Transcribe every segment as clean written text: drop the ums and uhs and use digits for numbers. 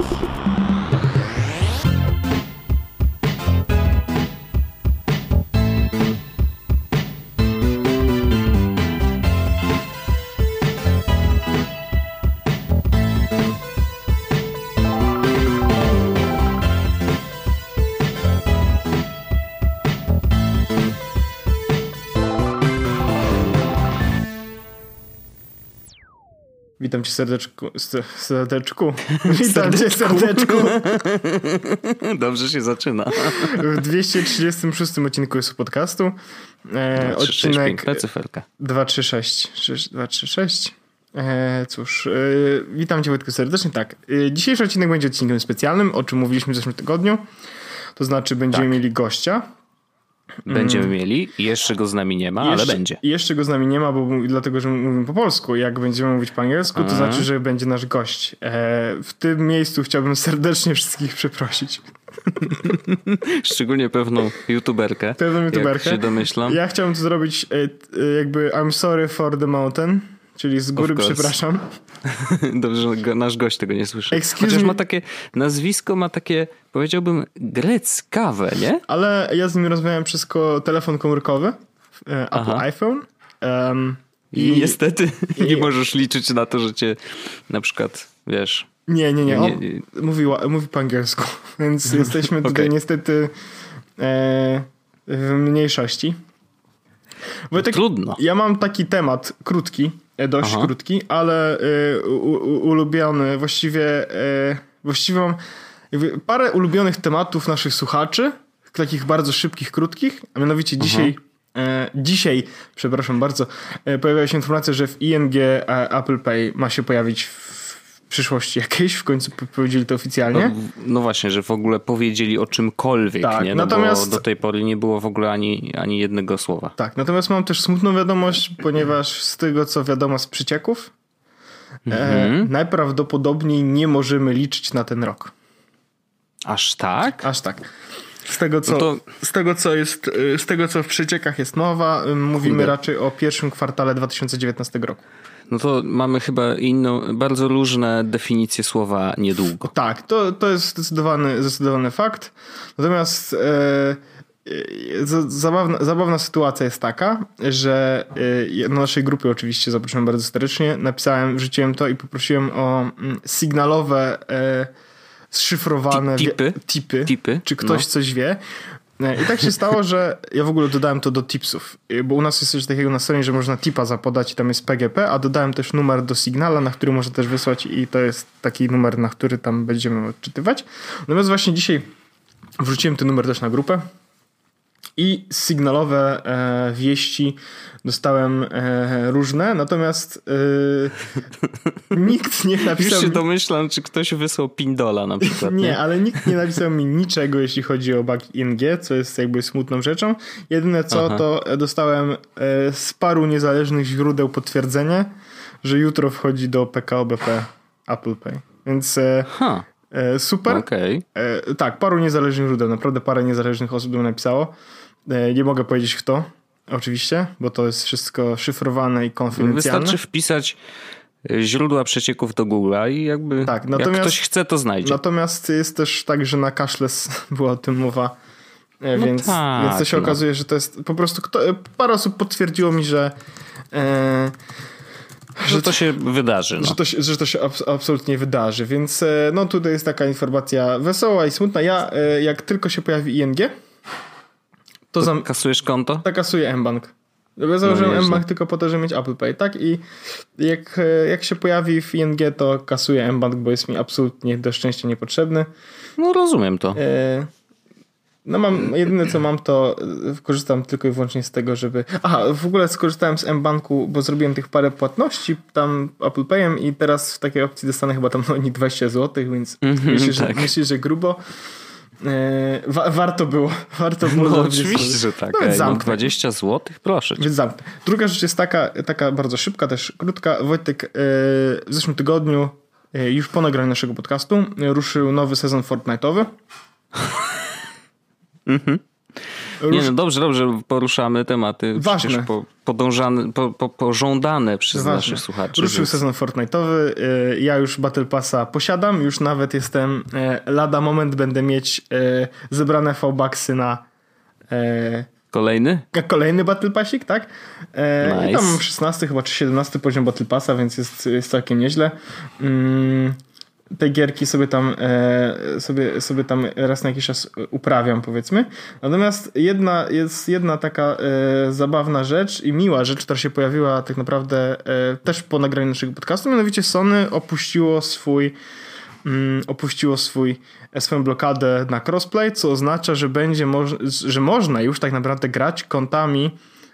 Witam cię serdeczku. Witam cię serdeczku. Dobrze się zaczyna. W 236 odcinku jest podcastu. 236, piękna cyferka. 236. Cóż, witam cię Wojtku serdecznie. Tak, dzisiejszy odcinek będzie odcinkiem specjalnym, o czym mówiliśmy w zeszłym tygodniu. To znaczy będziemy mieli gościa. Będziemy mieli. Jeszcze go z nami nie ma, ale będzie. Jeszcze go z nami nie ma, dlatego, że mówimy po polsku. Jak będziemy mówić po angielsku, to znaczy, że będzie nasz gość. W tym miejscu chciałbym serdecznie wszystkich przeprosić. Szczególnie pewną youtuberkę. Jak się domyślam. Ja chciałem to zrobić jakby I'm sorry for the mountain. Czyli z góry przepraszam. Dobrze, że nasz gość tego nie słyszy. Chociaż ma takie nazwisko, ma takie, powiedziałbym, greckawe, nie? Ale ja z nim rozmawiałem przez telefon komórkowy, iPhone. I niestety nie możesz liczyć na to, że cię na przykład, wiesz... Nie. Mówi po angielsku, więc jesteśmy tutaj niestety w mniejszości. Wojtek, trudno. Ja mam taki temat krótki, dość krótki, ale ulubiony. Właściwie mam parę ulubionych tematów naszych słuchaczy, takich bardzo szybkich, krótkich, a mianowicie dzisiaj, przepraszam bardzo, pojawiła się informacja, że w ING Apple Pay ma się pojawić w przyszłości jakiejś, w końcu powiedzieli to oficjalnie. No właśnie, że w ogóle powiedzieli o czymkolwiek, tak, nie? No natomiast bo do tej pory nie było w ogóle ani jednego słowa. Tak, natomiast mam też smutną wiadomość, ponieważ z tego, co wiadomo z przecieków, najprawdopodobniej nie możemy liczyć na ten rok. Aż tak? Aż tak. Z tego, co w przeciekach jest mowa, mówimy raczej o pierwszym kwartale 2019 roku. No to mamy chyba bardzo różne definicje słowa niedługo. Tak, to jest zdecydowany fakt. Natomiast zabawna sytuacja jest taka, że na naszej grupie oczywiście zaprosiłem bardzo serdecznie, wrzuciłem to i poprosiłem o sygnalowe zszyfrowane tipy, czy ktoś coś wie. I tak się stało, że ja w ogóle dodałem to do tipsów, bo u nas jest coś takiego na stronie, że można tipa zapodać i tam jest PGP, a dodałem też numer do Signala, na który można też wysłać i to jest taki numer, na który tam będziemy odczytywać. Natomiast właśnie dzisiaj wrzuciłem ten numer też na grupę i sygnalowe wieści dostałem różne, natomiast nikt nie napisał... Już się domyślam, czy ktoś wysłał pindola na przykład. Nie, ale nikt nie napisał mi niczego, jeśli chodzi o bug ING, co jest jakby smutną rzeczą. Jedyne co, to dostałem z paru niezależnych źródeł potwierdzenie, że jutro wchodzi do PKO BP Apple Pay. Więc... super. Okay. Tak, paru niezależnych źródeł, naprawdę parę niezależnych osób mi napisało. Nie mogę powiedzieć kto, oczywiście, bo to jest wszystko szyfrowane i konfidencjalne. Wystarczy wpisać źródła przecieków do Google'a i jakby jak ktoś chce, to znajdzie. Natomiast jest też tak, że na cashless była o tym mowa, więc to się okazuje, że to jest po prostu parę osób potwierdziło mi, że to się wydarzy. No. Że to się absolutnie wydarzy, więc tutaj jest taka informacja wesoła i smutna. Ja jak tylko się pojawi ING, to kasujesz konto? Tak, kasuję mBank. Ja założyłem mBank tylko po to, żeby mieć Apple Pay, tak? I jak się pojawi w ING, to kasuję mBank, bo jest mi absolutnie do szczęścia niepotrzebny. No rozumiem to. Jedyne co mam, to korzystam tylko i wyłącznie z tego, żeby... w ogóle skorzystałem z mBanku, bo zrobiłem tych parę płatności tam Apple Payem i teraz w takiej opcji dostanę chyba tam 20 zł, więc myślę, że grubo. Warto było. No oczywiście, że tak. 20 zł? Proszę cię. Więc zamknę. Druga rzecz jest taka bardzo szybka, też krótka. Wojtek, w zeszłym tygodniu, już po nagraniu naszego podcastu, ruszył nowy sezon Fortnite'owy. Nie, no dobrze, poruszamy tematy ważne. Przecież pożądane przez naszych słuchaczy. Ruszył sezon Fortnite'owy, ja już Battle Passa posiadam, już nawet jestem, lada moment będę mieć zebrane V-Bucksy na kolejny Battle Passik, tak? Nice. I tam mam 16 chyba czy 17 poziom Battle Passa, więc jest całkiem nieźle. Te gierki sobie tam raz na jakiś czas uprawiam, powiedzmy. Natomiast jest jedna taka zabawna rzecz i miła rzecz, która się pojawiła tak naprawdę też po nagraniu naszego podcastu, mianowicie Sony opuściło swoją blokadę na crossplay, co oznacza, że że można już tak naprawdę grać kontami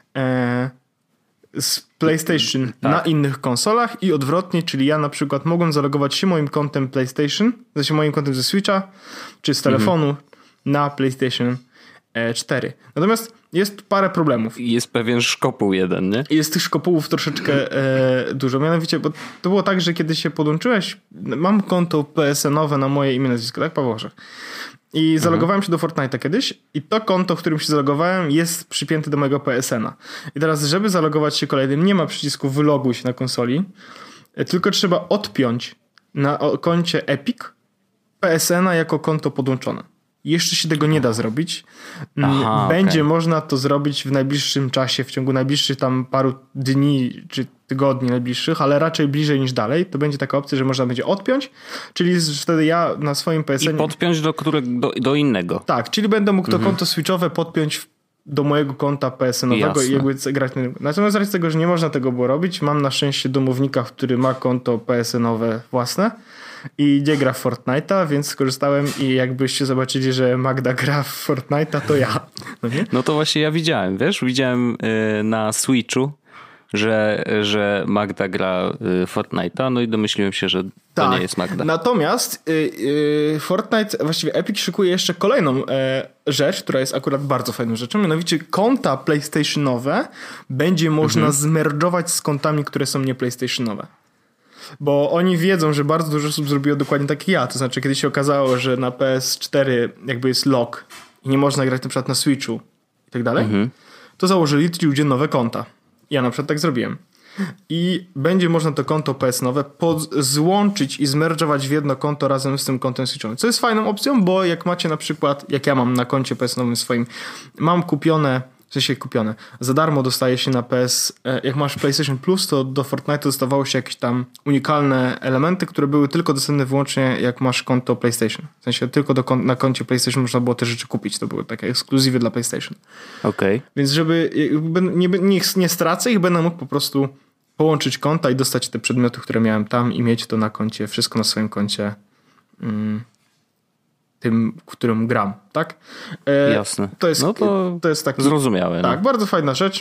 z PlayStation na innych konsolach i odwrotnie, czyli ja na przykład mogłem zalogować się moim kontem PlayStation, znaczy moim kontem ze Switcha czy z telefonu na PlayStation 4. Natomiast jest parę problemów. Jest pewien szkopuł jeden, nie? Jest tych szkopułów troszeczkę dużo. Mianowicie, bo to było tak, że kiedy się podłączyłeś, mam konto PSN-owe na moje imię, nazwisko, tak? Paweł Orzech. I zalogowałem się do Fortnite'a kiedyś i to konto, w którym się zalogowałem, jest przypięte do mojego PSN-a. I teraz, żeby zalogować się kolejnym, nie ma przycisku wyloguj się na konsoli, tylko trzeba odpiąć na koncie Epic PSN-a jako konto podłączone. Jeszcze się tego nie da zrobić. Będzie można to zrobić w najbliższym czasie, w ciągu najbliższych tam paru dni czy tygodni najbliższych, ale raczej bliżej niż dalej. To będzie taka opcja, że można będzie odpiąć, czyli wtedy ja na swoim PSN... I podpiąć do innego. Tak, czyli będę mógł to konto switchowe podpiąć do mojego konta PSN-owego i jakby grać na... Natomiast z racji tego, że nie można tego było robić, mam na szczęście domownika, który ma konto PSN-owe własne i nie gra w Fortnite'a, więc skorzystałem i jakbyście zobaczyli, że Magda gra w Fortnite'a, to ja. No, nie? No to właśnie ja widziałem, na Switchu, że Magda gra Fortnite'a, no i domyśliłem się, że to nie jest Magda. Natomiast Fortnite, właściwie Epic szykuje jeszcze kolejną rzecz, która jest akurat bardzo fajną rzeczą, mianowicie konta PlayStationowe będzie można zmerdżować z kontami, które są nie PlayStationowe. Bo oni wiedzą, że bardzo dużo osób zrobiło dokładnie tak jak ja. To znaczy, kiedy się okazało, że na PS4 jakby jest lock i nie można grać na przykład na Switchu i tak dalej, to założyli ci ludzie nowe konta. Ja na przykład tak zrobiłem. I będzie można to konto PS-nowe złączyć i zmerdżować w jedno konto razem z tym kontem Switchowym. Co jest fajną opcją, bo jak macie na przykład, jak ja mam na koncie PS-nowym swoim, mam kupione, za darmo dostaje się na PS, jak masz PlayStation Plus, to do Fortnite'a dostawało się jakieś tam unikalne elementy, które były tylko dostępne wyłącznie jak masz konto PlayStation. W sensie tylko na koncie PlayStation można było te rzeczy kupić. To były takie ekskluzywy dla PlayStation. Okej. Więc żeby nie stracę ich, będę mógł po prostu połączyć konta i dostać te przedmioty, które miałem tam i mieć to na koncie, wszystko na swoim koncie tym, którym gram, tak? Jasne. To jest taki... Zrozumiałe. Tak, bardzo fajna rzecz.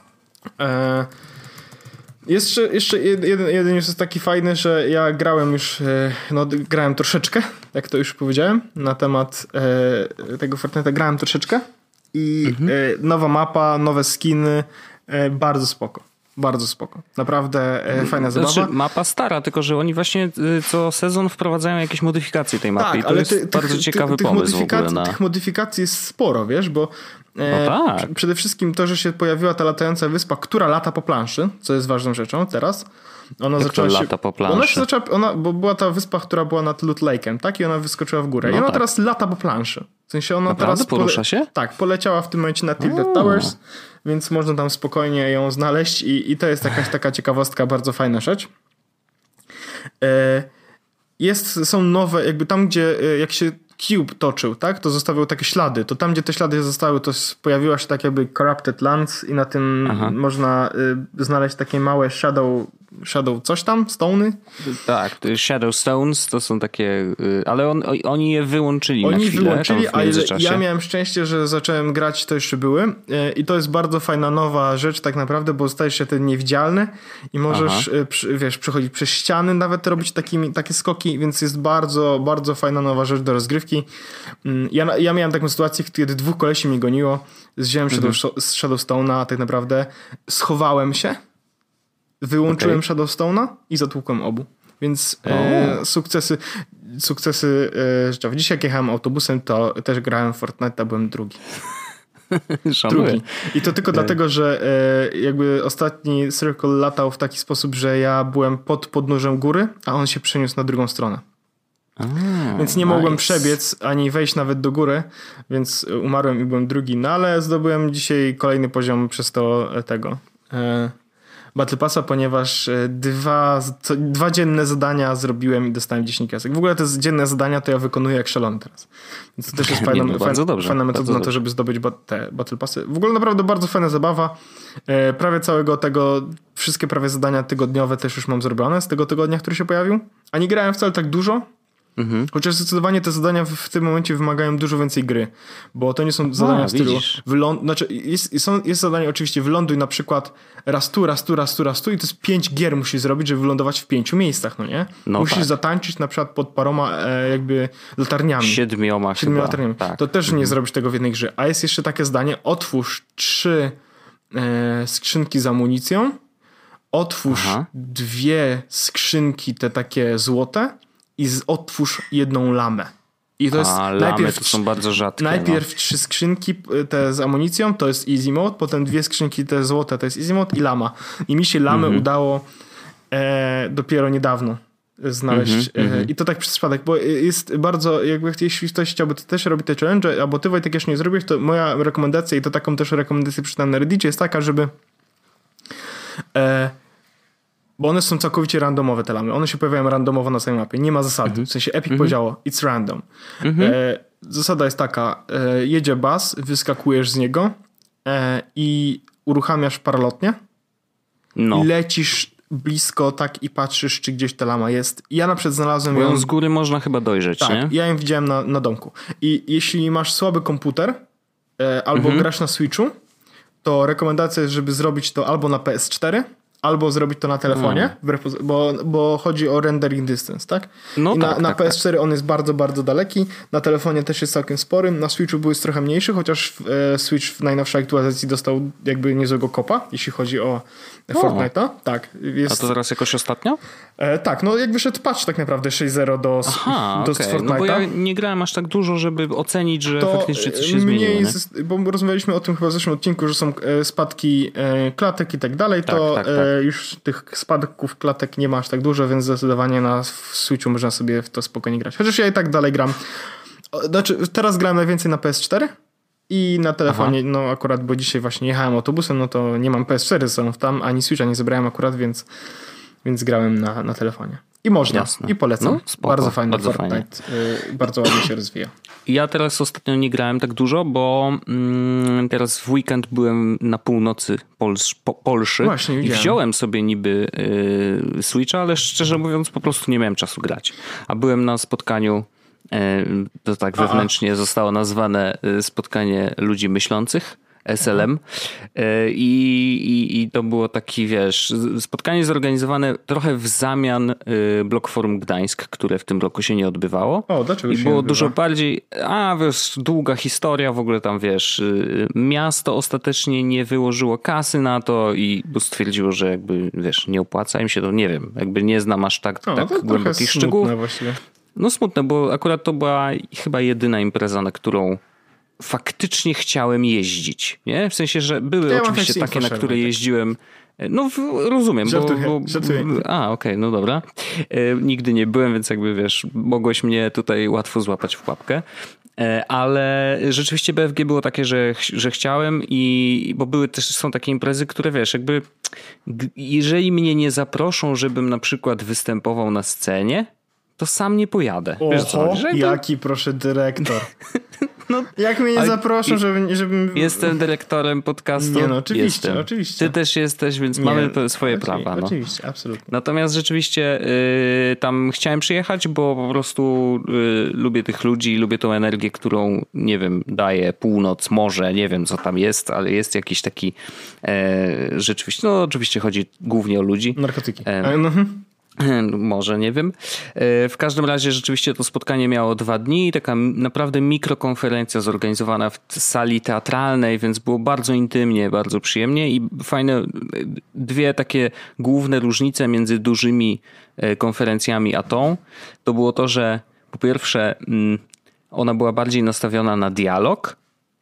Jeszcze jeden jest taki fajny, że ja grałem już, grałem troszeczkę, jak to już powiedziałem, na temat tego Fortnite'a grałem troszeczkę i nowa mapa, nowe skiny, bardzo spoko. Bardzo spoko. Naprawdę fajna zabawa. Znaczy, mapa stara, tylko że oni właśnie co sezon wprowadzają jakieś modyfikacje tej mapy. Tak, i to jest bardzo ciekawy pomysł w ogóle. Tych modyfikacji jest sporo, wiesz, bo przede wszystkim to, że się pojawiła ta latająca wyspa, która lata po planszy, co jest ważną rzeczą teraz. Ona zaczęła się lata po planszy? Bo była ta wyspa, która była nad Loot Lake'em, tak? I ona wyskoczyła w górę. I ona teraz lata po planszy. W sensie ona teraz porusza się? Tak, poleciała w tym momencie na Tilted Towers, więc można tam spokojnie ją znaleźć i to jest jakaś taka ciekawostka, bardzo fajna rzecz. Są nowe, jakby tam, gdzie jak się Cube toczył, tak, to zostawiał takie ślady. To tam, gdzie te ślady zostały, to pojawiła się tak jakby Corrupted Lands i na tym można znaleźć takie małe shadow coś tam, stone'y. Tak, Shadow Stones to są takie, ale oni je wyłączyli na chwilę. Wyłączyli, ale ja miałem szczęście, że zacząłem grać, to jeszcze były i to jest bardzo fajna nowa rzecz tak naprawdę, bo stajesz się ten niewidzialny i możesz, przechodzić przez ściany, nawet robić takie skoki, więc jest bardzo, bardzo fajna nowa rzecz do rozgrywki. Ja miałem taką sytuację, kiedy 2 kolesi mnie goniło, wziąłem Shadowstone'a, a tak naprawdę schowałem się, wyłączyłem Shadowstone'a i zatłukłem obu. Więc sukcesy życiowe. Dzisiaj jak jechałem autobusem, to też grałem w Fortnite'a, byłem drugi. Drugi. I to tylko dlatego, że jakby ostatni Circle latał w taki sposób, że ja byłem pod podnóżem góry, a on się przeniósł na drugą stronę. Więc nie mogłem przebiec, ani wejść nawet do góry, więc umarłem i byłem drugi. No ale zdobyłem dzisiaj kolejny poziom przez tego Battle Passa, ponieważ dwa dzienne zadania zrobiłem i dostałem 10 kasek. W ogóle te dzienne zadania to ja wykonuję jak szalony teraz. Więc to też jest fajna metoda na to, żeby zdobyć te Battle Passy. W ogóle naprawdę bardzo fajna zabawa. Prawie całego tego, wszystkie prawie zadania tygodniowe też już mam zrobione z tego tygodnia, który się pojawił. A nie grałem wcale tak dużo. Chociaż zdecydowanie te zadania w tym momencie wymagają dużo więcej gry, bo to nie są zadania w stylu jest zadanie oczywiście wyląduj na przykład raz tu i to jest 5 gier musisz zrobić, żeby wylądować w 5 miejscach, no nie? Musisz zatańczyć na przykład pod paroma jakby latarniami. 7 latarniami. Tak. To też nie zrobisz tego w jednej grze. A jest jeszcze takie zdanie, otwórz 3 skrzynki z amunicją, otwórz 2 skrzynki te takie złote i otwórz 1 lamę. I to jest lamy to są bardzo rzadkie. Najpierw 3 skrzynki te z amunicją, to jest easy mode, potem 2 skrzynki te złote, to jest easy mode i lama. I mi się lamy udało dopiero niedawno znaleźć. I to tak przez przypadek, bo jest bardzo, jakby jeśli ktoś chciałby też robić te challenge, albo ty Wojtek jeszcze nie zrobiłeś, to moja rekomendacja i to taką też rekomendację przeczytałem na Reddicie jest taka, żeby bo one są całkowicie randomowe te lamy. One się pojawiają randomowo na samej mapie. Nie ma zasady. W sensie Epic powiedziało it's random. Zasada jest taka. Jedzie bus, wyskakujesz z niego i uruchamiasz paralotnię i lecisz blisko tak i patrzysz, czy gdzieś ta lama jest. Ja na przykład znalazłem ją z góry można chyba dojrzeć, tak, nie? Ja ją widziałem na domku. I jeśli masz słaby komputer albo grasz na Switchu, to rekomendacja jest, żeby zrobić to albo na PS4, albo zrobić to na telefonie, bo chodzi o rendering distance, tak? No, i na PS4 on jest bardzo, bardzo daleki, na telefonie też jest całkiem spory, na Switchu był trochę mniejszy, chociaż Switch w najnowszej aktualizacji dostał jakby niezłego kopa, jeśli chodzi o Fortnite'a. Tak, a to zaraz jakoś ostatnio? Tak, no jak wyszedł patch tak naprawdę 6.0 do Fortnite'a. No bo ja nie grałem aż tak dużo, żeby ocenić, że faktycznie coś się zmieniło. Bo rozmawialiśmy o tym chyba w zeszłym odcinku, że są spadki klatek i tak dalej, tak. Już tych spadków klatek nie ma aż tak dużo, więc zdecydowanie na Switchu można sobie w to spokojnie grać. Chociaż ja i tak dalej gram. Znaczy, teraz grałem najwięcej na PS4 i na telefonie, no akurat, bo dzisiaj właśnie jechałem autobusem, no to nie mam PS4 ze tam, ani Switcha nie zebrałem akurat, więc grałem na telefonie. I można. Jasne. I polecam. No, spoko, bardzo fajny Fortnite. Bardzo ładnie się rozwija. Ja teraz ostatnio nie grałem tak dużo, bo teraz w weekend byłem na północy Polszy. Właśnie, i wziąłem sobie niby Switcha, ale szczerze mówiąc po prostu nie miałem czasu grać. A byłem na spotkaniu, to tak wewnętrznie zostało nazwane spotkanie ludzi myślących, SLM. I to było taki, wiesz, spotkanie zorganizowane trochę w zamian Block Forum Gdańsk, które w tym roku się nie odbywało. Dlaczego i się było odbywa? dużo bardziej, wiesz, długa historia, w ogóle tam, wiesz, miasto ostatecznie nie wyłożyło kasy na to i stwierdziło, że jakby, wiesz, nie opłaca im się to, nie wiem, jakby nie znam aż tak głębokich szczegółów. Właściwie. No smutne, bo akurat to była chyba jedyna impreza, na którą faktycznie chciałem jeździć, nie? W sensie, że były oczywiście takie, na które jeździłem. No rozumiem, Żartuję. Okej, no dobra. Nigdy nie byłem, więc jakby wiesz, mogłeś mnie tutaj łatwo złapać w pułapkę. Ale rzeczywiście BFG było takie, że chciałem bo były też, są takie imprezy, które wiesz, jakby jeżeli mnie nie zaproszą, żebym na przykład występował na scenie, to sam nie pojadę. Wiesz, co chodzi? Jaki proszę dyrektor. No, jak mnie nie zaproszą, żebym... Jestem dyrektorem podcastu. Nie, no oczywiście. Ty też jesteś, więc mamy swoje prawa. No. Oczywiście, absolutnie. Natomiast rzeczywiście tam chciałem przyjechać, bo po prostu lubię tych ludzi, lubię tą energię, którą, nie wiem, daje północ, morze, nie wiem co tam jest, ale jest jakiś taki rzeczywiście, no oczywiście chodzi głównie o ludzi. Narkotyki. Może, nie wiem. W każdym razie rzeczywiście to spotkanie miało 2 dni. Taka naprawdę mikrokonferencja zorganizowana w sali teatralnej, więc było bardzo intymnie, bardzo przyjemnie i fajne 2 takie główne różnice między dużymi konferencjami a tą. To było to, że po pierwsze ona była bardziej nastawiona na dialog,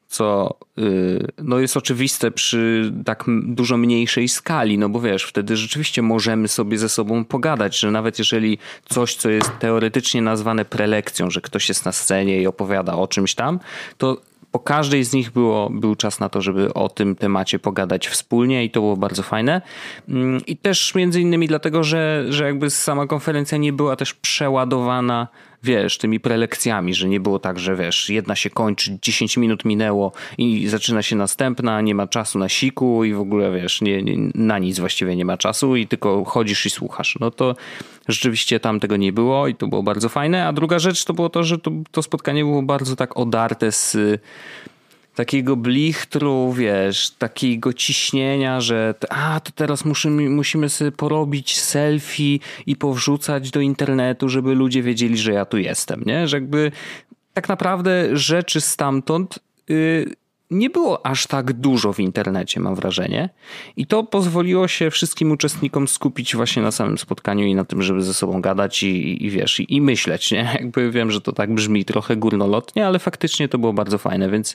co no jest oczywiste przy tak dużo mniejszej skali, no bo wiesz, wtedy rzeczywiście możemy sobie ze sobą pogadać, że nawet jeżeli coś, co jest teoretycznie nazwane prelekcją, że ktoś jest na scenie i opowiada o czymś tam, to po każdej z nich był czas na to, żeby o tym temacie pogadać wspólnie i to było bardzo fajne. I też między innymi dlatego, że jakby sama konferencja nie była też przeładowana, wiesz, tymi prelekcjami, że nie było tak, że wiesz, jedna się kończy, 10 minut minęło i zaczyna się następna, nie ma czasu na siku i w ogóle wiesz, na nic właściwie nie ma czasu i tylko chodzisz i słuchasz. No to rzeczywiście tam tego nie było i to było bardzo fajne. A druga rzecz to było to, że to spotkanie było bardzo tak odarte z takiego blichtru, wiesz, takiego ciśnienia, że to teraz musimy sobie porobić selfie i powrzucać do internetu, żeby ludzie wiedzieli, że ja tu jestem, nie? Że jakby tak naprawdę rzeczy stamtąd nie było aż tak dużo w internecie, mam wrażenie. I to pozwoliło się wszystkim uczestnikom skupić właśnie na samym spotkaniu i na tym, żeby ze sobą gadać i wiesz, i myśleć, nie? Jakby wiem, że to tak brzmi trochę górnolotnie, ale faktycznie to było bardzo fajne, więc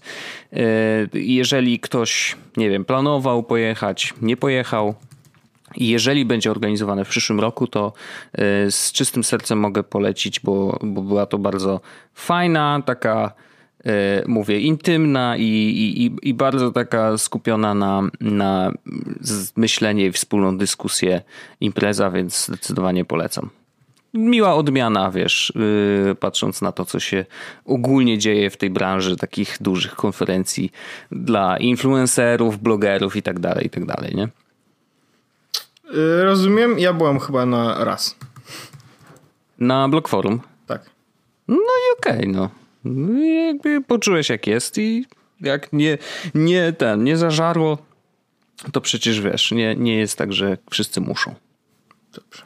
jeżeli ktoś, nie wiem, planował pojechać, nie pojechał, i jeżeli będzie organizowane w przyszłym roku, to z czystym sercem mogę polecić, bo była to bardzo fajna, taka mówię, intymna i bardzo taka skupiona na myślenie i wspólną dyskusję impreza, więc zdecydowanie polecam. Miła odmiana, wiesz, patrząc na to, co się ogólnie dzieje w tej branży takich dużych konferencji dla influencerów, blogerów i tak dalej, nie? Rozumiem, ja byłem chyba na raz. Na Blog Forum? Tak. No i okej, no. Jakby poczułeś jak jest i jak nie zażarło, to przecież wiesz, nie jest tak, że wszyscy muszą. Dobrze.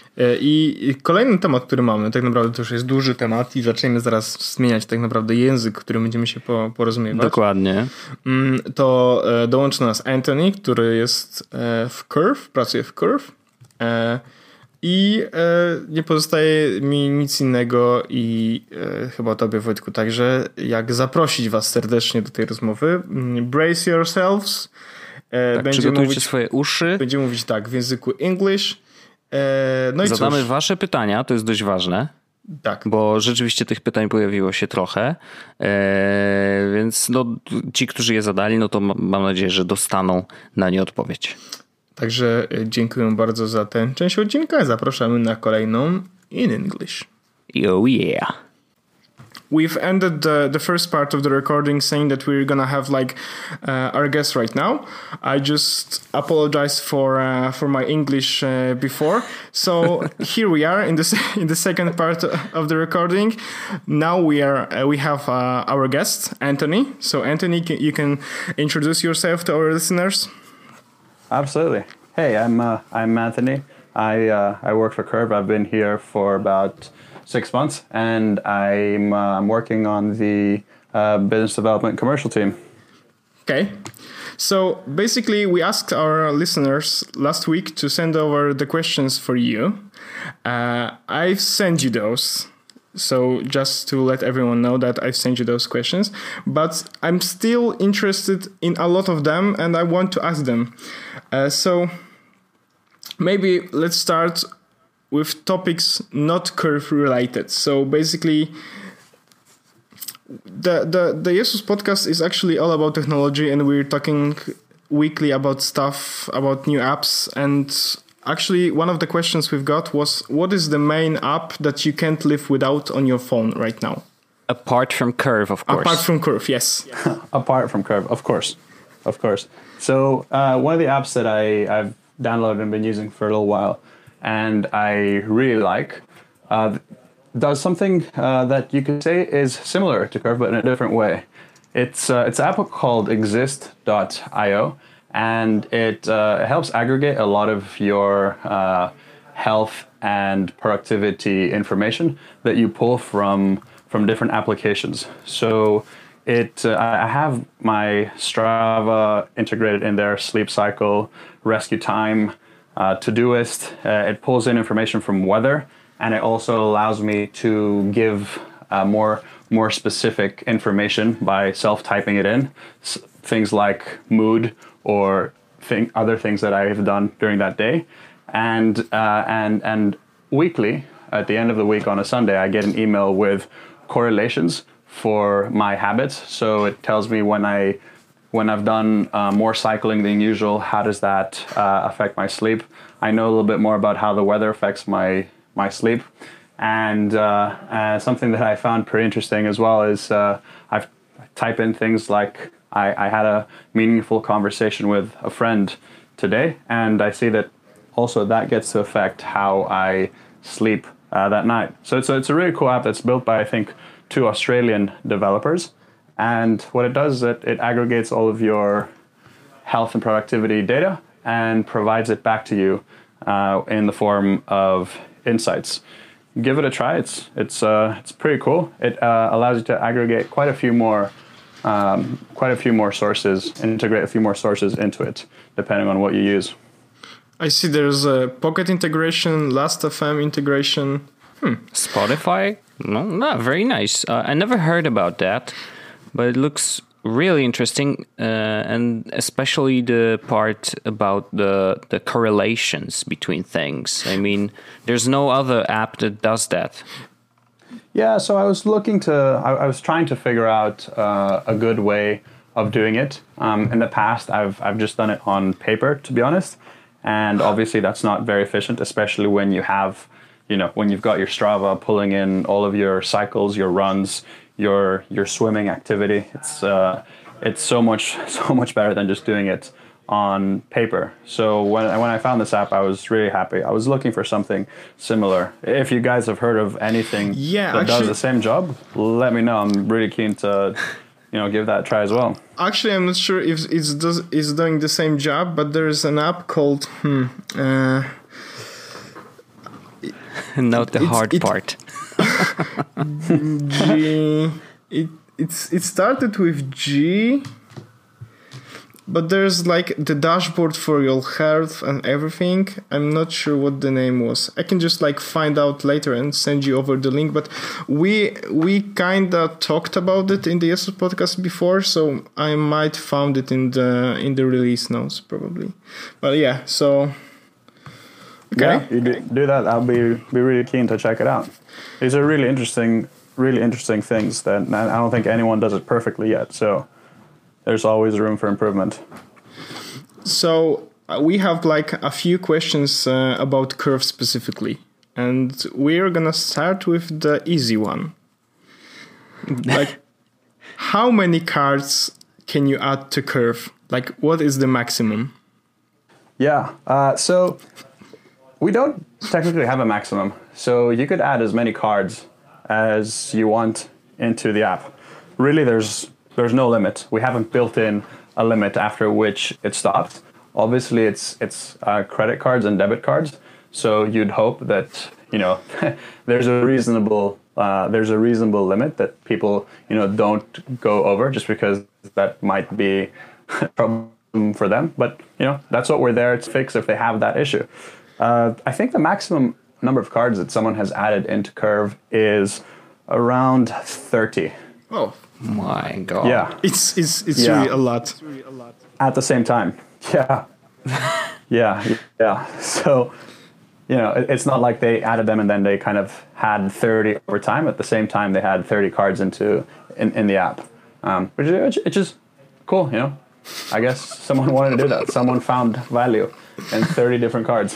I kolejny temat, który mamy, tak naprawdę to już jest duży temat i zaczniemy zaraz zmieniać tak naprawdę język, którym będziemy się porozumiewać. Dokładnie. To dołączy do nas Anthony, który jest w Curve, pracuje w Curve. I nie pozostaje mi nic innego i chyba tobie, Wojtku, także jak zaprosić was serdecznie do tej rozmowy. Brace yourselves. Tak, przygotujcie swoje uszy. Będziemy mówić tak w języku English. No i zadamy wasze pytania, to jest dość ważne. Tak. Bo rzeczywiście tych pytań pojawiło się trochę, więc no, ci, którzy je zadali, no to mam nadzieję, że dostaną na nie odpowiedź. Także dziękuję bardzo za tę część odcinka. Zapraszamy na kolejną in English. Oh yeah. We've ended the first part of the recording saying that we're gonna have like our guest right now. I just apologize for my English before. So here we are in the second part of the recording. Now we have our guest Anthony. So Anthony, you can introduce yourself to our listeners. Absolutely. Hey, I'm Anthony. I work for Curve. I've been here for about 6 months, and I'm working on the business development commercial team. Okay. So basically, we asked our listeners last week to send over the questions for you. I've sent you those. So just to let everyone know that I've sent you those questions, but I'm still interested in a lot of them and I want to ask them. So maybe let's start with topics not Curve related. So basically the Jesus podcast is actually all about technology and we're talking weekly about stuff, about new apps. And actually one of the questions we've got was, what is the main app that you can't live without on your phone right now? Apart from Curve, of course. Apart from Curve, yes. Apart from Curve, of course. So one of the apps that I've downloaded and been using for a little while, and I really like, does something that you could say is similar to Curve, but in a different way. It's an app called Exist.io, and it helps aggregate a lot of your health and productivity information that you pull from different applications. So I have my Strava integrated in there, sleep cycle, rescue time, Todoist. It pulls in information from weather, and it also allows me to give more more specific information by self-typing it in, things like mood or other things that I have done during that day, and weekly at the end of the week on a Sunday, I get an email with correlations for my habits. So it tells me when I've done more cycling than usual, how does that affect my sleep? I know a little bit more about how the weather affects my sleep. And something that I found pretty interesting as well is I type in things like I had a meaningful conversation with a friend today, and I see that also that gets to affect how I sleep that night. So it's a really cool app that's built by, I think, 2 Australian developers. And what it does is it aggregates all of your health and productivity data and provides it back to you in the form of insights. Give it a try. It's pretty cool. It allows you to aggregate quite a few more sources, integrate a few more sources into it, depending on what you use. I see there's a Pocket integration, Last.fm integration. Spotify? No, very nice. I never heard about that, but it looks really interesting, and especially the part about the correlations between things. I mean, there's no other app that does that. Yeah, so I was trying to figure out a good way of doing it. In the past, I've just done it on paper, to be honest, and obviously that's not very efficient, especially when you have, when you've got your Strava pulling in all of your cycles, your runs, your swimming activity. It's so much better than just doing it on paper. So when I found this app, I was really happy. I was looking for something similar. If you guys have heard of anything that does the same job, let me know. I'm really keen to give that a try as well. Actually, I'm not sure if it's doing the same job, but there is an app called Note the hard part. G. It started with G, but there's like the dashboard for your health and everything. I'm not sure what the name was. I can just like find out later and send you over the link. But we kinda talked about it in the Yesos podcast before, so I might found it in the release notes probably. But yeah, so okay. Yeah, you do that. I'll be really keen to check it out. These are really interesting things that I don't think anyone does it perfectly yet. So there's always room for improvement. So we have like a few questions about Curve specifically, and we're gonna start with the easy one. Like, how many cards can you add to Curve? Like, what is the maximum? Yeah. So we don't technically have a maximum. So you could add as many cards as you want into the app. Really, there's no limit. We haven't built in a limit after which it stops. Obviously, it's credit cards and debit cards. So you'd hope that there's a reasonable limit that people don't go over, just because that might be a problem for them. But that's what we're there to fix if they have that issue. I think the maximum number of cards that someone has added into Curve is around 30. Oh my god! Yeah, it's really a lot. At the same time, yeah, yeah. So it's not like they added them and then they kind of had 30 over time. At the same time, they had 30 cards in the app, which is cool. I guess someone wanted to do that. Someone found value in 30 different cards.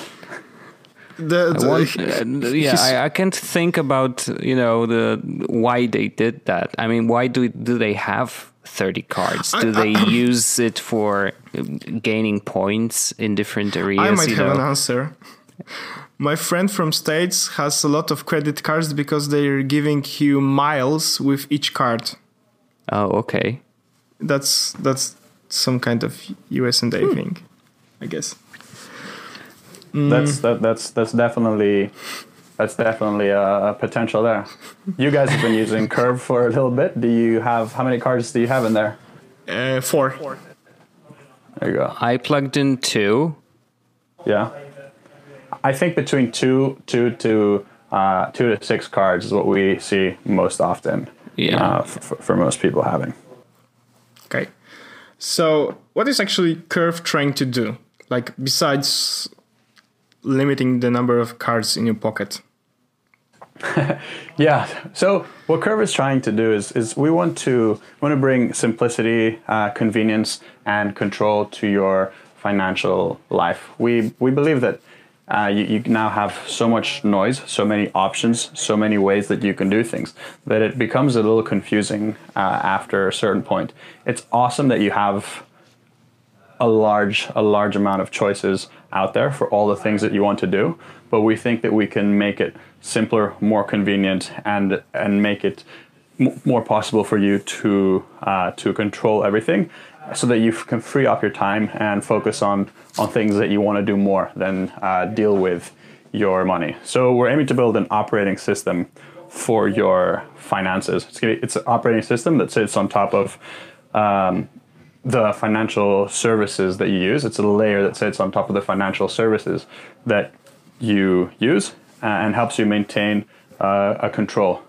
I can't think about the why they did that. I mean, why do they have 30 cards? Do they use it for gaining points in different areas? I might have an answer. My friend from States has a lot of credit cards because they're giving you miles with each card. Oh, okay. That's some kind of US&A thing, I guess. That's definitely a potential there. You guys have been using Curve for a little bit. How many cards do you have in there? 4. There you go. I plugged in 2. Yeah, I think between 2 to 6 cards is what we see most often. for most people having. Okay. So what is actually Curve trying to do? Like, besides limiting the number of cards in your pocket? Yeah. So what Curve is trying to do is we want to bring simplicity, convenience, and control to your financial life. We believe that you now have so much noise, so many options, so many ways that you can do things, that it becomes a little confusing after a certain point. It's awesome that you have a large amount of choices out there for all the things that you want to do, but we think that we can make it simpler, more convenient, and make it more possible for you to control everything, so that you can free up your time and focus on things that you want to do more than deal with your money. So we're aiming to build an operating system for your finances. It's an operating system that sits on top of the financial services that you use. It's a layer that sits on top of the financial services that you use and helps you maintain a control.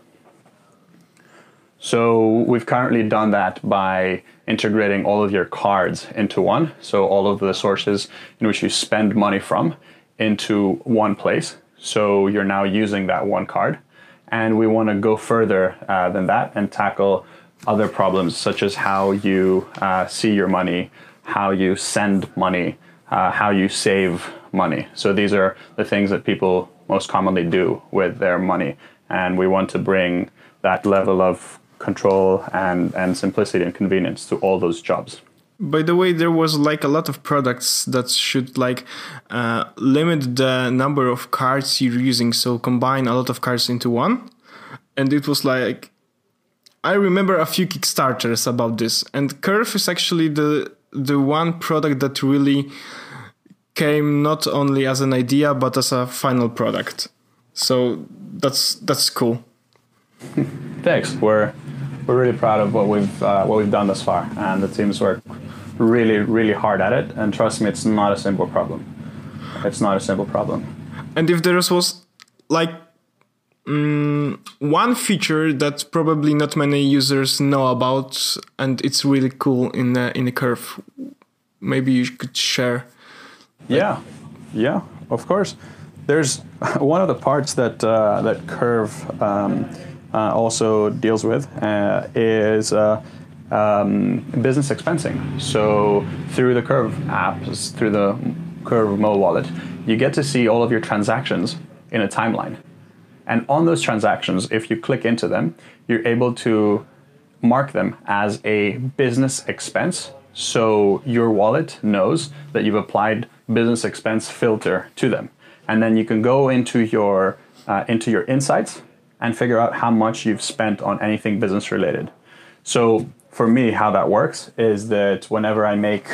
So we've currently done that by integrating all of your cards into one. So all of the sources in which you spend money from into one place. So you're now using that one card. And we want to go further than that and tackle other problems, such as how you see your money, how you send money, how you save money. So these are the things that people most commonly do with their money. And we want to bring that level of control and simplicity and convenience to all those jobs. By the way, there was like a lot of products that should like limit the number of cards you're using, so combine a lot of cards into one. And it was like, I remember a few Kickstarters about this, and Curve is actually the one product that really came not only as an idea but as a final product. So that's cool. Thanks. We're really proud of what we've done thus far, and the teams work really hard at it. And trust me, it's not a simple problem. It's not a simple problem. And if there was like one feature that probably not many users know about, and it's really cool in the Curve, maybe you could share. Yeah, of course. There's one of the parts that Curve also deals with is business expensing. So through the Curve app, through the Curve mobile wallet, you get to see all of your transactions in a timeline. And on those transactions, if you click into them, you're able to mark them as a business expense. So your wallet knows that you've applied business expense filter to them. And then you can go into your insights and figure out how much you've spent on anything business related. So for me, how that works is that whenever I make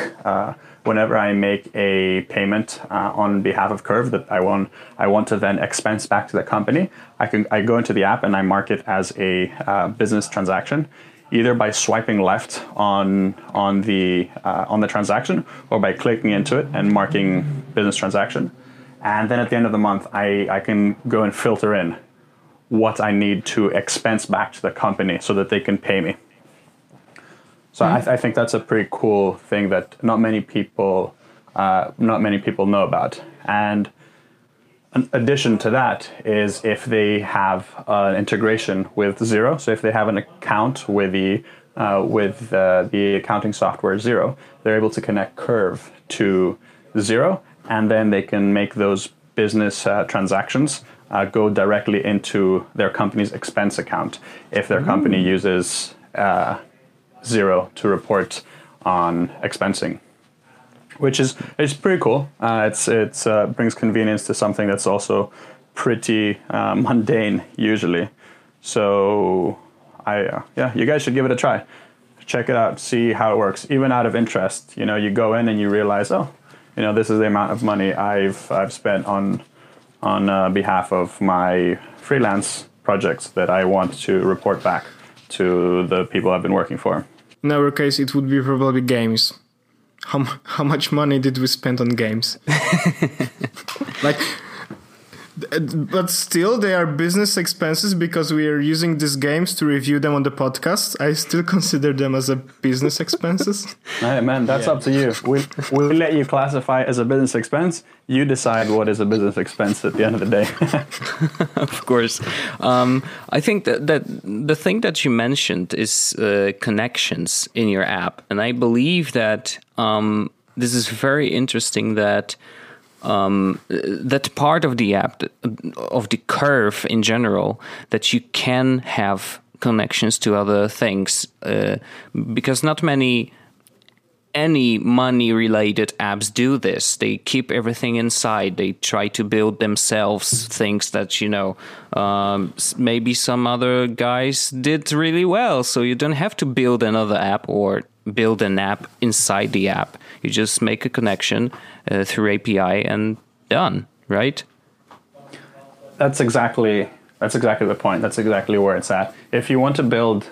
a payment on behalf of Curve that I want to then expense back to the company, I go into the app and I mark it as a business transaction, either by swiping left on the transaction or by clicking into it and marking business transaction. And then at the end of the month, I can go and filter in what I need to expense back to the company so that they can pay me. So I think that's a pretty cool thing that not many people know about. And an addition to that is if they have an integration with Xero. So if they have an account with the accounting software Xero, they're able to connect Curve to Xero, and then they can make those business transactions go directly into their company's expense account if their company uses Xero to report on expensing, which is pretty cool. It brings convenience to something that's also pretty mundane usually. So you guys should give it a try. Check it out, see how it works. Even out of interest, you go in and you realize, this is the amount of money I've spent on behalf of my freelance projects that I want to report back to the people I've been working for. In our case, it would be probably games. How much money did we spend on games? Like, But still, they are business expenses because we are using these games to review them on the podcast. I still consider them as a business expenses. Hey, man, that's up to you. We'll let you classify it as a business expense. You decide what is a business expense at the end of the day. Of course. I think that the thing that you mentioned is connections in your app. And I believe that this is very interesting that that part of the app, of the Curve in general, that you can have connections to other things, because not any money-related apps do this. They keep everything inside. They try to build themselves things that, maybe some other guys did really well. So you don't have to build another app or build an app inside the app. You just make a connection through API and done, right? That's exactly the point. That's exactly where it's at. If you want to build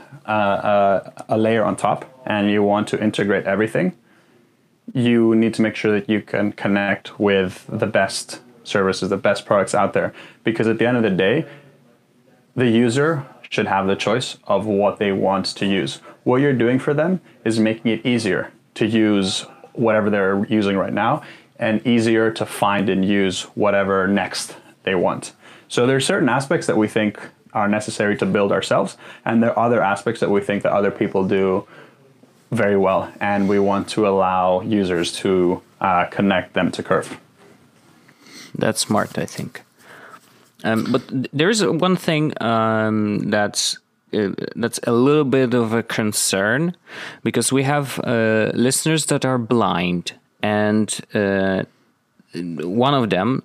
a layer on top and you want to integrate everything, you need to make sure that you can connect with the best services, the best products out there. Because at the end of the day, the user should have the choice of what they want to use. What you're doing for them is making it easier to use whatever they're using right now and easier to find and use whatever next they want. So there are certain aspects that we think are necessary to build ourselves, and there are other aspects that we think that other people do very well, and we want to allow users to connect them to Curve. That's smart, I think. But there's one thing that's a little bit of a concern, because we have listeners that are blind, and one of them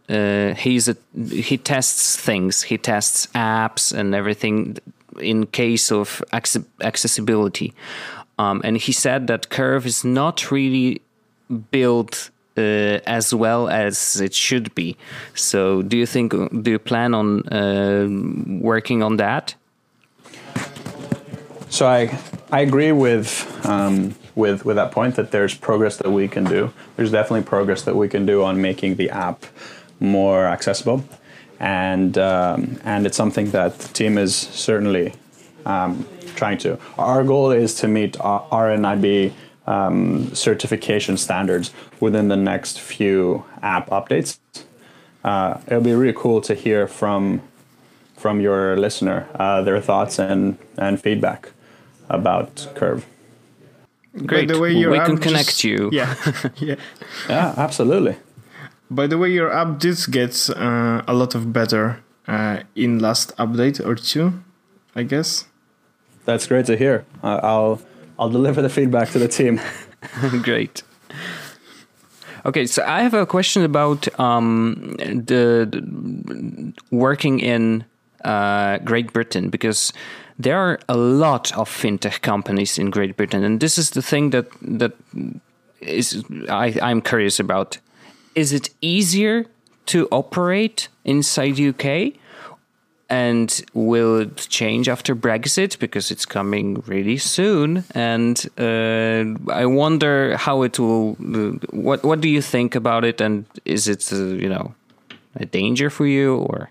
he tests things, he tests apps and everything in case of accessibility, and he said that Curve is not really built as well as it should be. So do you plan on working on that? So I agree with that point, that there's progress that we can do. There's definitely progress that we can do on making the app more accessible, and it's something that the team is certainly trying to. Our goal is to meet RNIB certification standards within the next few app updates. It'll be really cool to hear from your listener their thoughts and feedback about Curve. Great. By the way, we can connect you. Yeah. Yeah. Yeah, absolutely. By the way, your app did get a lot of better in last update or two, I guess. That's great to hear. I'll deliver the feedback to the team. Great. Okay, so I have a question about the working in Great Britain, because there are a lot of fintech companies in Great Britain, and this is the thing that is I'm curious about. Is it easier to operate inside UK? And will it change after Brexit, because it's coming really soon? And I wonder how it will. What do you think about it? And is it a danger for you, or?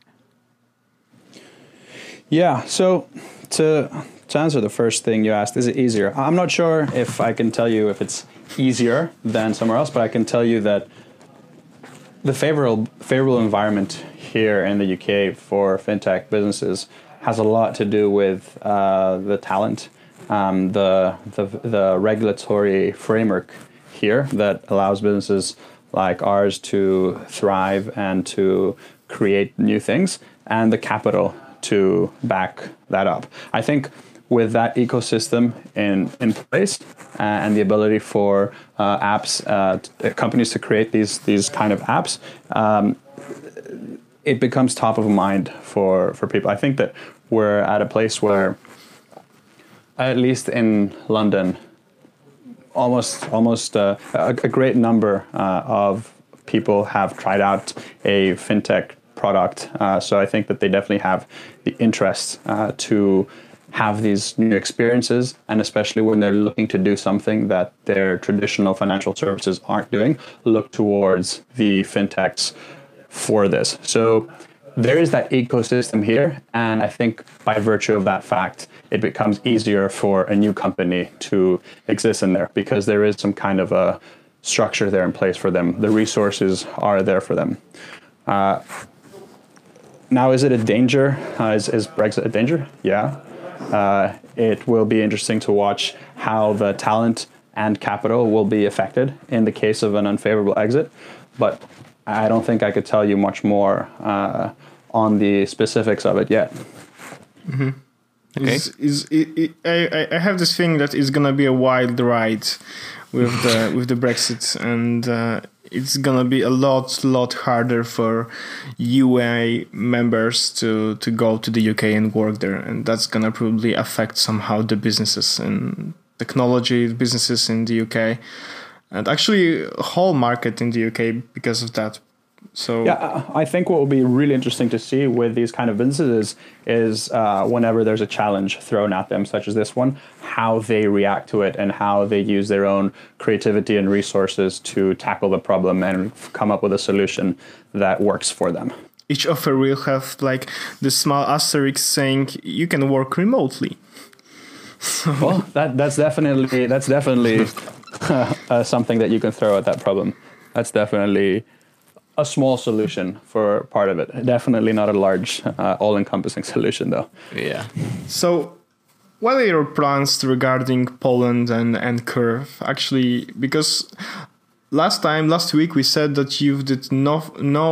Yeah. So to answer the first thing you asked, is it easier? I'm not sure if I can tell you if it's easier than somewhere else, but I can tell you that the favorable environment here in the UK for fintech businesses has a lot to do with the talent, the regulatory framework here that allows businesses like ours to thrive and to create new things, and the capital to back that up. I think with that ecosystem in place and the ability for companies to create these kind of apps, it becomes top of mind for people. I think that we're at a place where, at least in London, almost a great number of people have tried out a fintech product. So I think that they definitely have the interest to have these new experiences, and especially when they're looking to do something that their traditional financial services aren't doing, look towards the fintechs for this. So there is that ecosystem here, and I think by virtue of that fact, it becomes easier for a new company to exist in there because there is some kind of a structure there in place for them. The resources are there for them. Now, is it a danger? Is Brexit a danger? Yeah. It will be interesting to watch how the talent and capital will be affected in the case of an unfavorable exit. But I don't think I could tell you much more on the specifics of it yet. Mm-hmm. Okay. I have this feeling that it's gonna be a wild ride with the Brexit, and it's gonna be a lot harder for UA members to go to the UK and work there, and that's gonna probably affect somehow the businesses and technology businesses in the UK, and actually a whole market in the UK because of that. So yeah, I think what will be really interesting to see with these kind of businesses is whenever there's a challenge thrown at them, such as this one, how they react to it and how they use their own creativity and resources to tackle the problem and come up with a solution that works for them. Each offer will have like the small asterisk saying you can work remotely. Well, that's definitely something that you can throw at that problem. That's definitely a small solution for part of it. Definitely not a large, all-encompassing solution, though. Yeah. So, what are your plans regarding Poland and Curve? Actually, because last week we said that you did no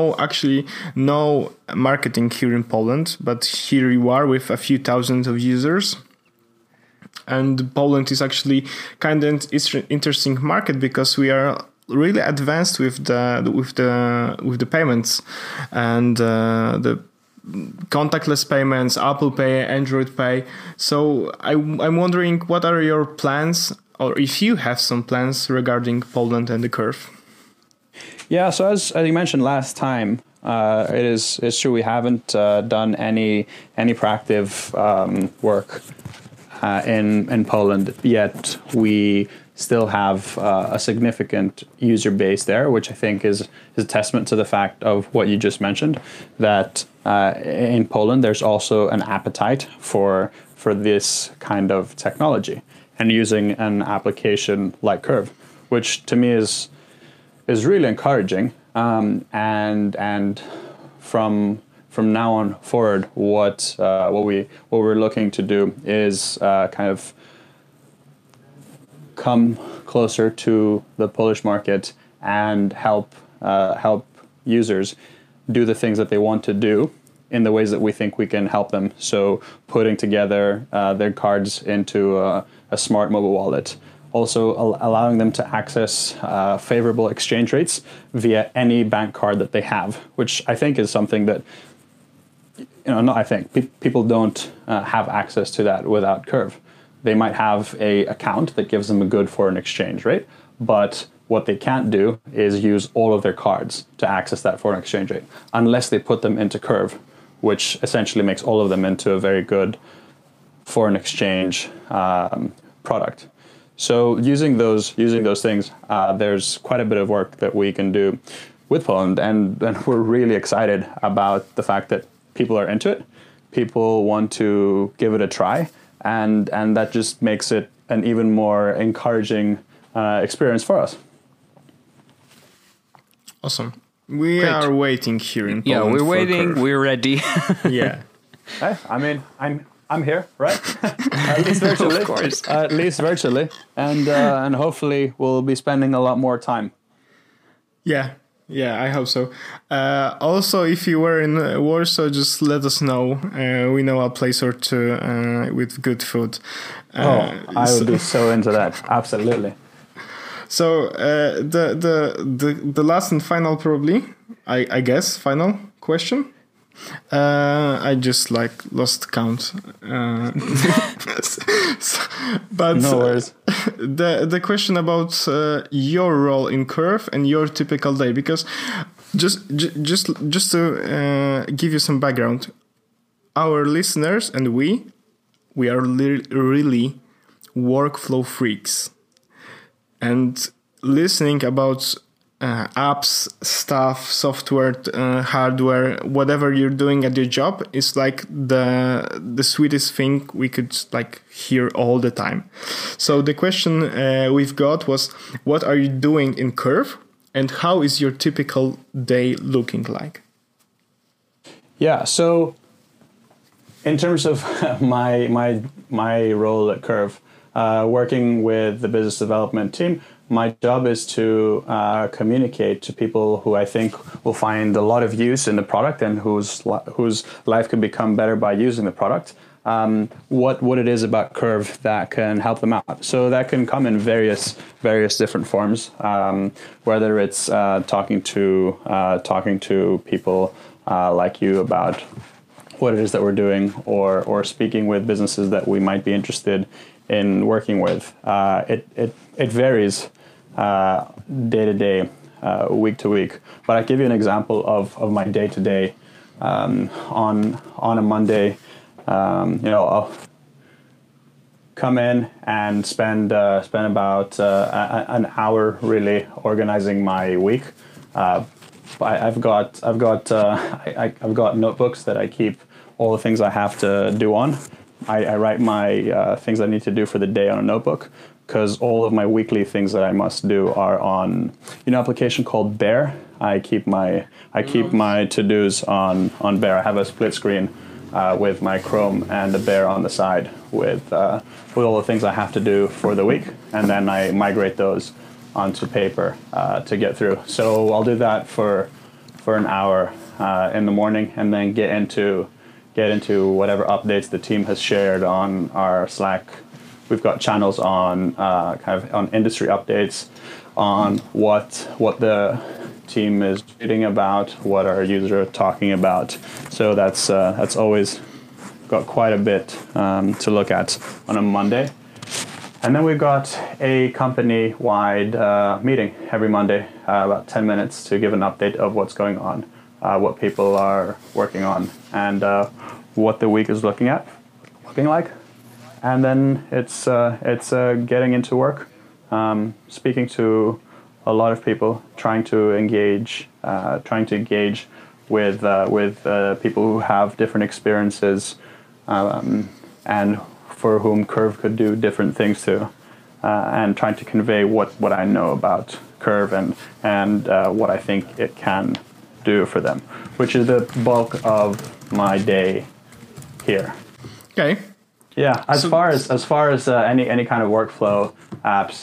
marketing here in Poland, but here you are with a few thousand of users. And Poland is actually kind of an interesting market because we are really advanced with the payments and the contactless payments, Apple Pay, Android Pay. So I'm wondering, what are your plans, or if you have some plans regarding Poland and the Curve? Yeah, so as you mentioned last time, it's true we haven't done any proactive work in Poland yet. We still have a significant user base there, which I think is a testament to the fact of what you just mentioned, that in Poland there's also an appetite for this kind of technology and using an application like Curve, which to me is really encouraging. And from now on forward, what we're looking to do is kind of come closer to the Polish market and help users do the things that they want to do in the ways that we think we can help them. So putting together their cards into a smart mobile wallet, also allowing them to access favorable exchange rates via any bank card that they have, which I think is something that people don't have access to that without Curve. They might have an account that gives them a good foreign exchange rate, but what they can't do is use all of their cards to access that foreign exchange rate unless they put them into Curve, which essentially makes all of them into a very good foreign exchange product. So using those things, there's quite a bit of work that we can do with Poland, and we're really excited about the fact that people are into it. People want to give it a try. And that just makes it an even more encouraging experience for us. Awesome. We are waiting here in Poland. Yeah, we're waiting. Curve. We're ready. Yeah. Hey, I mean, I'm here, right? At least virtually, of course. At least virtually, and hopefully we'll be spending a lot more time. Yeah, I hope so. Also, if you were in Warsaw, just let us know. We know a place or two with good food. I would be so into that. Absolutely. So the last and final, probably, I guess, final question. I just lost count. But no worries. The question about your role in Curve and your typical day, because just to give you some background, our listeners and we are really workflow freaks, and listening about apps, stuff, software, hardware, whatever you're doing at your job is like the sweetest thing we could like hear all the time. So the question we've got was, what are you doing in Curve, and how is your typical day looking like? Yeah, so in terms of my role at Curve, working with the business development team, my job is to communicate to people who I think will find a lot of use in the product and whose life could become better by using the product. What it is about Curve that can help them out. So that can come in various different forms. Whether it's talking to people like you about what it is that we're doing, or speaking with businesses that we might be interested in working with. It varies day to day, week to week. But I give you an example of my day to day. On a Monday, I'll come in and spend about an hour really organizing my week. I've got notebooks that I keep all the things I have to do on. I write my things I need to do for the day on a notebook, because all of my weekly things that I must do are on an application called Bear. I keep my to-dos on Bear. I have a split screen with my Chrome and a Bear on the side with all the things I have to do for the week, and then I migrate those onto paper to get through. So I'll do that for an hour in the morning, and then get into whatever updates the team has shared on our Slack. We've got channels on on industry updates, on what the team is reading about, what our users are talking about. So that's always got quite a bit to look at on a Monday. And then we've got a company-wide meeting every Monday, about 10 minutes, to give an update of what's going on, what people are working on, and what the week is looking like. And then it's getting into work, speaking to a lot of people, trying to engage with people who have different experiences, and for whom Curve could do different things too, and trying to convey what I know about Curve and what I think it can do for them, which is the bulk of my day here. Okay. Yeah, as far as any kind of workflow apps,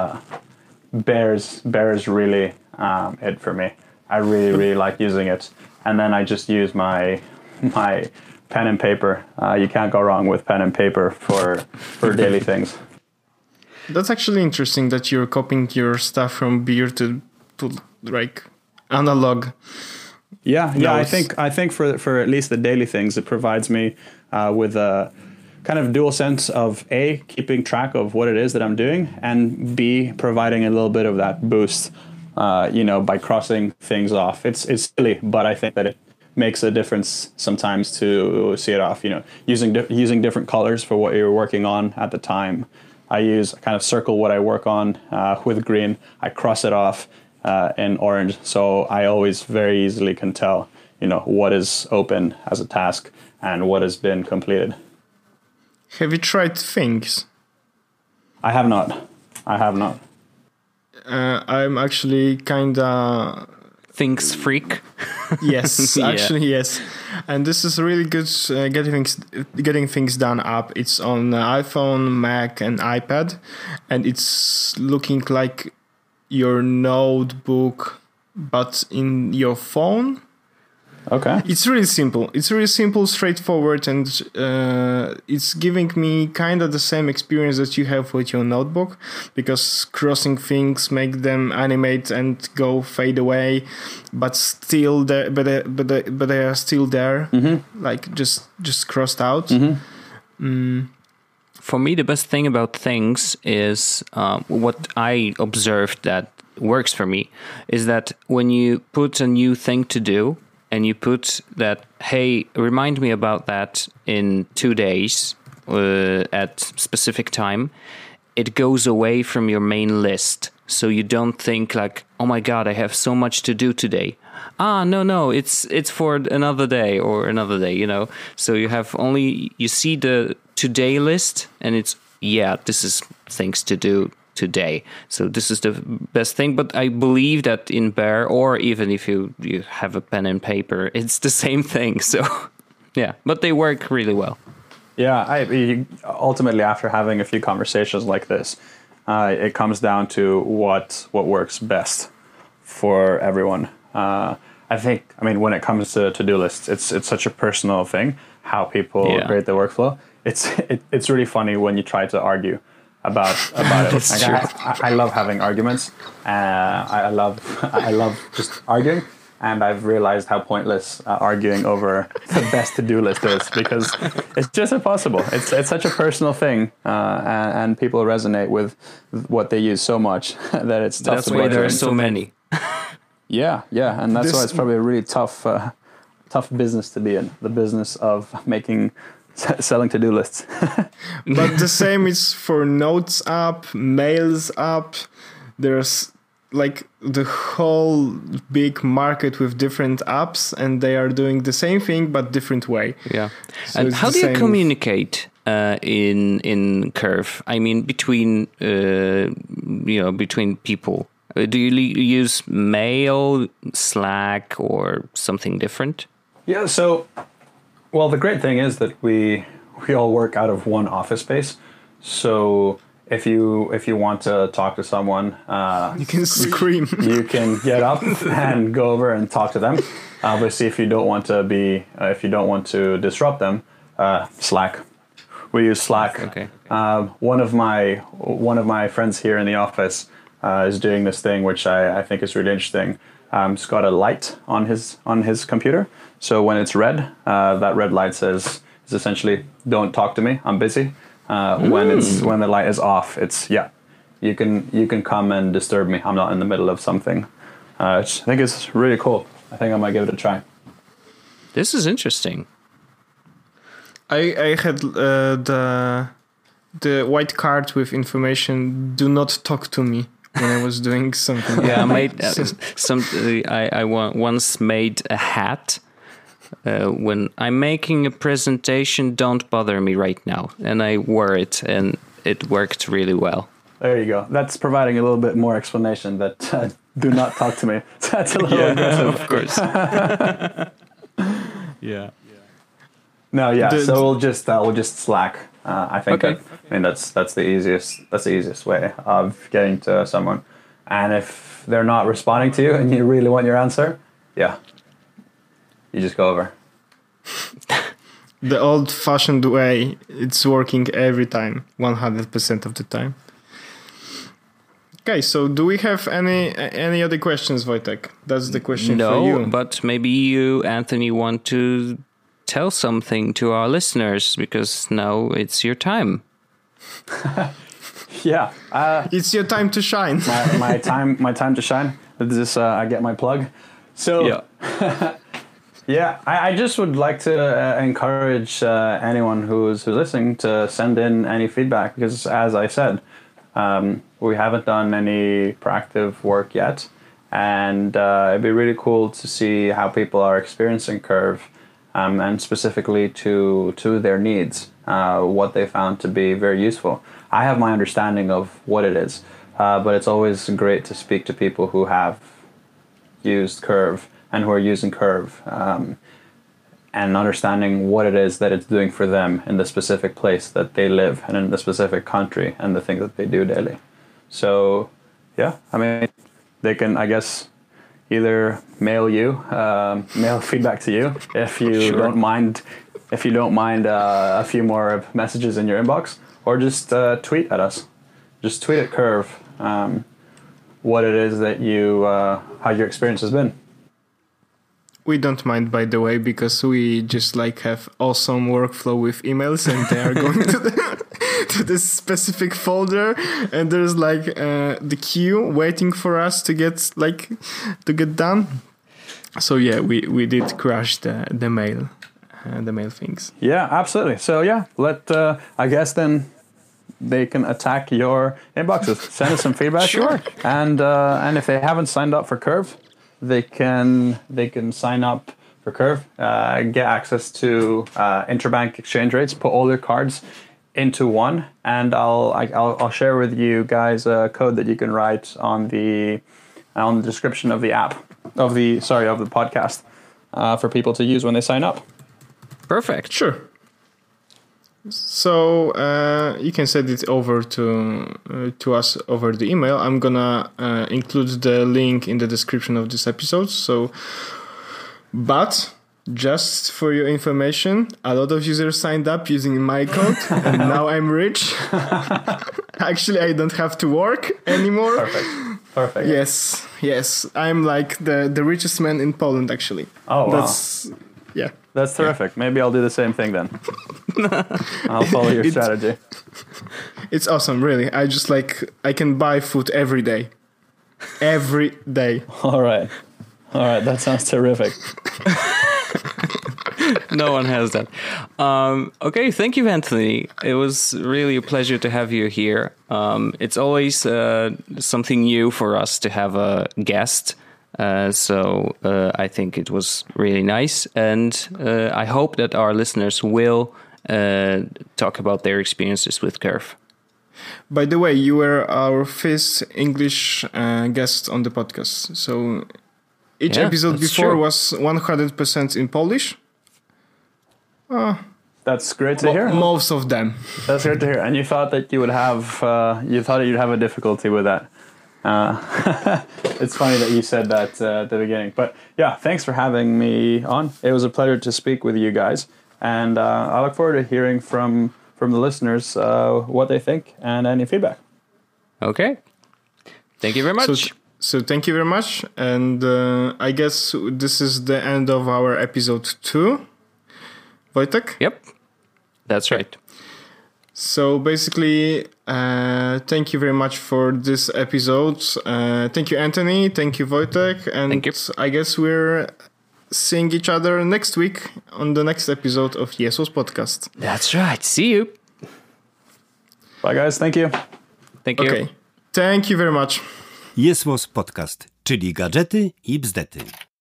Bear's really it for me. I really like using it, and then I just use my pen and paper. You can't go wrong with pen and paper for daily things. That's actually interesting that you're copying your stuff from Beer to like analog. Yeah. I think for at least the daily things, it provides me with a kind of dual sense of A, keeping track of what it is that I'm doing, and B, providing a little bit of that boost, by crossing things off. It's silly, but I think that it makes a difference sometimes to see it off. Using different colors for what you're working on at the time. I kind of circle what I work on with green. I cross it off in orange, so I always very easily can tell, what is open as a task and what has been completed. Have you tried Things? I have not. I'm actually kinda Things freak. Yes, actually yes. And this is really good getting things done app. It's on iPhone, Mac, and iPad, and it's looking like your notebook, but in your phone. Okay. It's really simple, straightforward, and it's giving me kind of the same experience that you have with your notebook, because crossing things make them animate and go fade away, but still there, but they are still there, like just crossed out. For me, the best thing about Things is what I observed that works for me is that when you put a new thing to do, and you put that, hey, remind me about that in 2 days at specific time, it goes away from your main list. so you don't think like, oh my god, I have so much to do today. No, it's for another day or another day, you know. So you see the today list, and it's this is things to do today. So this is the best thing. But I believe that in Bear, or even if you have a pen and paper, it's the same thing. So yeah, but they work really well. Yeah, ultimately, after having a few conversations like this, it comes down to what works best for everyone. I mean, when it comes to to-do lists, it's such a personal thing how people create their workflow. It's really funny when you try to argue about it. Like, I love having arguments. I love just arguing. And I've realized how pointless arguing over the best to-do list is, because it's just impossible. It's such a personal thing, and people resonate with what they use so much that it's tough. That's why there are so many. Yeah, and that's why it's probably a really tough business to be in. The business of selling to-do lists. But the same is for Notes app, Mails app. There's like the whole big market with different apps, and they are doing the same thing but different way. Yeah. So and how do you communicate in Curve? I mean, between between people. Do you use Mail, Slack, or something different? Yeah. So, well, the great thing is that we all work out of one office space. So if you want to talk to someone, you can scream. You can get up and go over and talk to them. Obviously, if you don't want to disrupt them, Slack. We use Slack. Okay. One of my friends here in the office is doing this thing, which I think is really interesting. It's got a light on his computer. So when it's red, that red light says essentially, "Don't talk to me. I'm busy." When the light is off, it's you can come and disturb me. I'm not in the middle of something. I think it's really cool. I think I might give it a try. This is interesting. I had the white card with information, "Do not talk to me," when I was doing something. Yeah, I once made a hat. When I'm making a presentation, don't bother me right now. And I wore it, and it worked really well. There you go. That's providing a little bit more explanation that do not talk to me. That's a little aggressive. Of course. Yeah. No, yeah. So we'll just Slack. I think. Okay. That's the easiest way of getting to someone. And if they're not responding to you and you really want your answer, you just go over. The old-fashioned way, it's working every time, 100% of the time. Okay, so do we have any other questions, Wojtek? That's the question for you. No, but maybe you, Anthony, want to tell something to our listeners, because now it's your time. Yeah. It's your time to shine. my time to shine. This is I get my plug. So yeah, I just would like to encourage anyone who's listening to send in any feedback, because as I said, we haven't done any proactive work yet, and it'd be really cool to see how people are experiencing Curve, and specifically to their needs, what they found to be very useful. I have my understanding of what it is, but it's always great to speak to people who have used Curve and who are using Curve, and understanding what it is that it's doing for them in the specific place that they live and in the specific country and the things that they do daily. So, yeah, I mean, they can, I guess, either mail feedback to you if you don't mind. If you don't mind a few more messages in your inbox, or just tweet at us. Just tweet at Curve what it is that how your experience has been. We don't mind, by the way, because we just have awesome workflow with emails, and they are going to this specific folder, and there's the queue waiting for us to get done. So yeah, we did crash the mail things. Yeah, absolutely. So yeah, I guess then they can attack your inboxes. Send us some feedback. Sure. And if they haven't signed up for Curve, they can sign up for Curve, get access to interbank exchange rates, put all their cards into one, and I'll share with you guys a code that you can write on the description of the app of the podcast for people to use when they sign up. Perfect. Sure. So you can send it over to us over the email. I'm gonna include the link in the description of this episode. But just for your information, a lot of users signed up using my code, and now I'm rich. Actually, I don't have to work anymore. Perfect. Yes. I'm like the richest man in Poland, actually. Oh, wow. That's terrific. Maybe I'll do the same thing then. I'll follow your strategy. It's awesome, really. I can buy food every day. Every day. All right. That sounds terrific. No one has that. Okay, thank you, Anthony. It was really a pleasure to have you here. It's always something new for us to have a guest. So I think it was really nice. And I hope that our listeners will talk about their experiences with Curve. By the way, you were our first English guest on the podcast. So each episode before was 100% in Polish. That's great to hear. Most of them. That's great to hear. And you thought that you'd have a difficulty with that. It's funny that you said that at the beginning. But yeah, thanks for having me on. It was a pleasure to speak with you guys. And I look forward to hearing from the listeners what they think and any feedback. Okay. Thank you very much. So thank you very much. And I guess this is the end of our episode 2. Wojtek? Yep. That's right. So basically, thank you very much for this episode. Thank you, Anthony. Thank you, Wojtek. And thank you. I guess we're seeing each other next week on the next episode of Jesus Podcast. That's right. See you. Bye, guys. Thank you. Thank you. Okay. Thank you very much. Jesus Podcast, czyli gadżety i bzdety.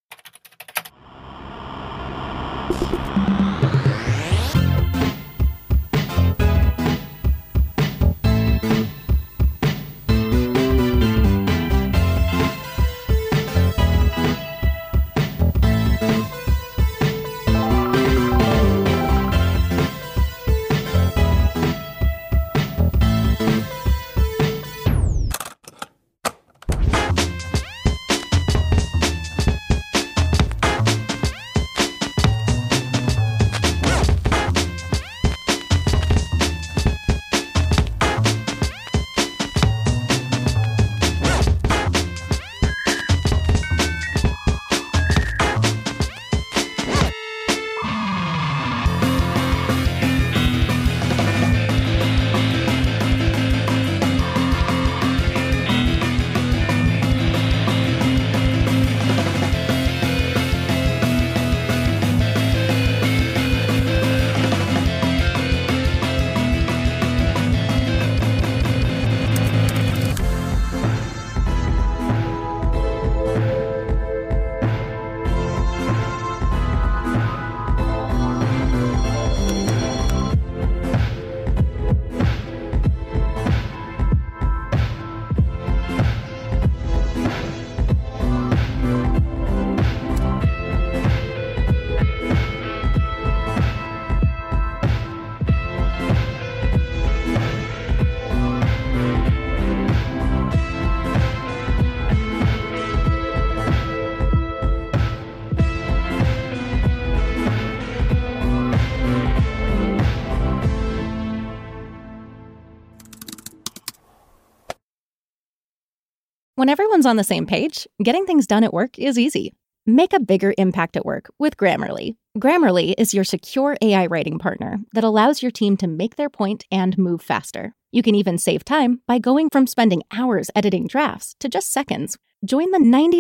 When everyone's on the same page, getting things done at work is easy. Make a bigger impact at work with Grammarly. Grammarly is your secure AI writing partner that allows your team to make their point and move faster. You can even save time by going from spending hours editing drafts to just seconds. Join the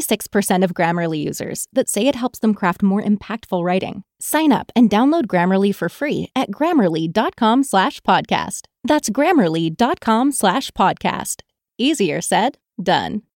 96% of Grammarly users that say it helps them craft more impactful writing. Sign up and download Grammarly for free at grammarly.com/podcast. That's Grammarly.com/podcast. Easier said, done.